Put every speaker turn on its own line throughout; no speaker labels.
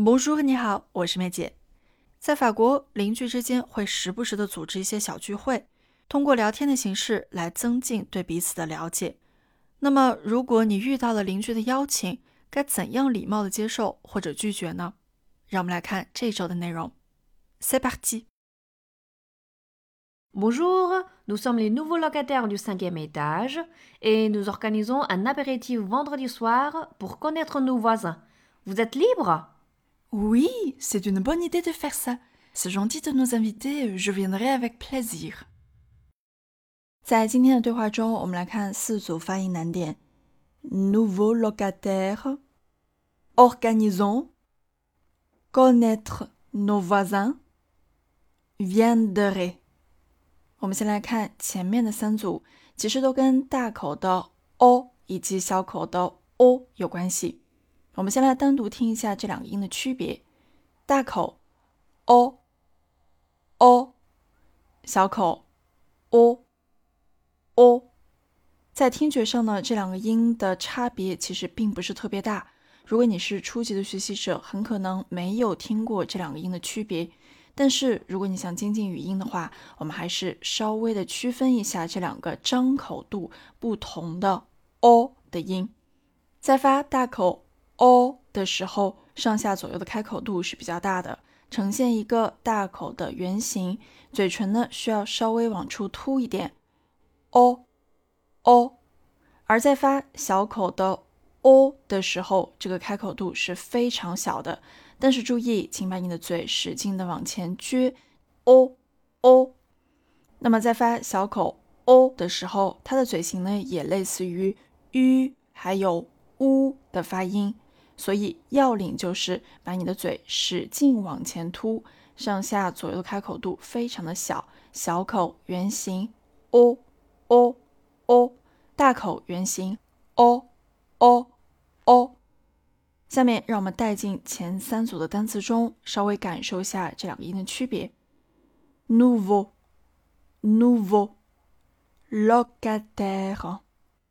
Bonjour，你好，我是妹姐。在法国，邻居之间会时不时的组织一些小聚会，通过聊天的形式来增进对彼此的了解。那么，如果你遇到了邻居的邀请，该怎样礼貌的接受或者拒绝呢？让我们来看这周的内容。C'est parti。
Bonjour, nous sommes les nouveaux locataires du 5e étage et nous organisons un apéritif vendredi soir pour connaître nos voisins. Vous êtes libre?
Oui, c'est une bonne idée de faire ça. C'est gentil de nous inviter, je viendrai avec plaisir. 在今天的对话中，我们来看四组发音难点。Nouveau locataire, organisons, connaître nos voisins, viendrai。我们先来看前面的三组，其实都跟大口的 o 以及小口的 o 有关系。我们先来单独听一下这两个音的区别。大口 o o， 小口 o o。在听觉上呢，这两个音的差别其实并不是特别大。如果你是初级的学习者，很可能没有听过这两个音的区别。但是如果你想精进语音的话，我们还是稍微的区分一下这两个张口度不同的 o 的音。在发大口 o 的时候，上下左右的开口度是比较大的，呈现一个大口的圆形，嘴唇呢需要稍微往出凸一点 o。而在发小口的 o 的时候，这个开口度是非常小的，但是注意，请把你的嘴使劲的往前撅 o。 那么在发小口 o 的时候，它的嘴型呢也类似于 u 还有 u 的发音，所以要领就是把你的嘴使劲往前凸，上下左右的开口度非常的小，小口圆形 o， 大口圆形 o。 下面让我们带进前三组的单词中，稍微感受一下这两个音的区别。 Nouveau locataire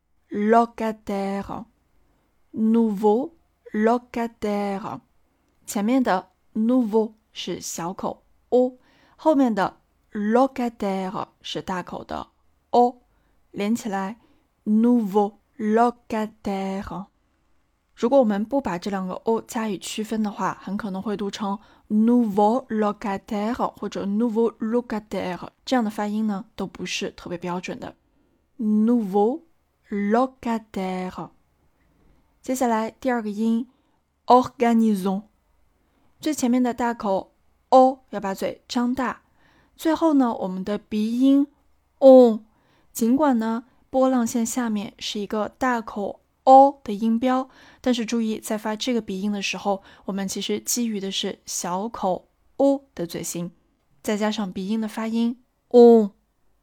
nouveau locataire， 前面的 nouveau 是小口 o， 后面的 locataire 是大口的 o， 连起来 nouveau locataire。 如果我们不把这两个 o 加以区分的话，很可能会读成 nouveau locataire 或者 nouveau locataire， 这样的发音呢都不是特别标准的。 nouveau locataire。 接下来第二个音 organisons， 最前面的大口 o 要把嘴张大，最后呢我们的鼻音 on， 尽管呢波浪线下面是一个大口 o 的音标，但是注意在发这个鼻音的时候，我们其实基于的是小口 o 的嘴型，再加上鼻音的发音 on，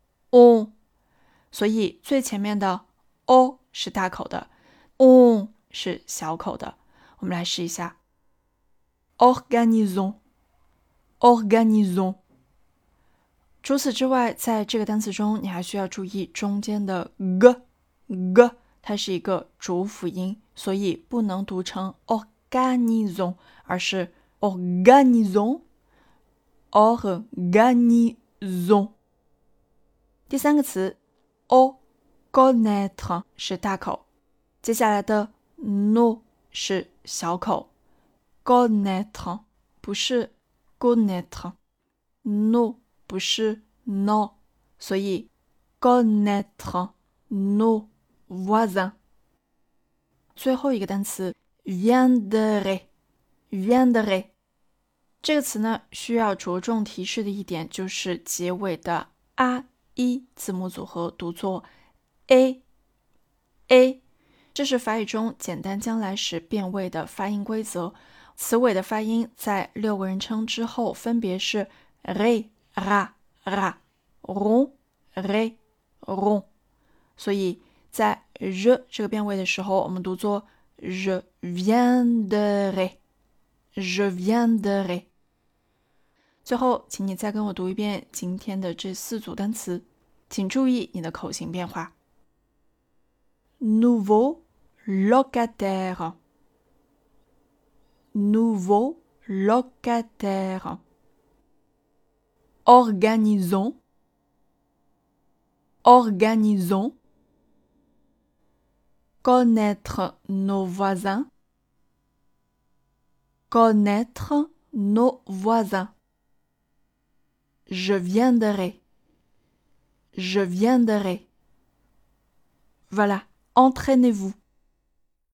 所以最前面的 o 是大口的， on 是小口的。我们来试一下 organisons。 除此之外，在这个单词中你还需要注意中间的 g， 它是一个浊辅音，所以不能读成 organisons， 而是 organisons。 第三个词 connaître 是大口，接下来的 no 是小口， connaître 不是 connaître， no 不是 no， 所以 connaître nos voisins。 最后一个单词 viendrai， 这个词呢需要着重提示的一点就是结尾的 a、e 字母组合读作 a， 这是法语中简单将来时变位的发音规则。词尾的发音在六个人称之后分别是 re ra ron re ron， 所以在 je 这个变位的时候，我们读作 je viendrai。 最后，请你再跟我读一遍今天的这四组单词，请注意你的口型变化。 Nouveau locataire, nouveau locataire. Organisons. Organisons. Connaître nos voisins. Connaître nos voisins. Je viendrai. Je viendrai. Voilà, entraînez-vous.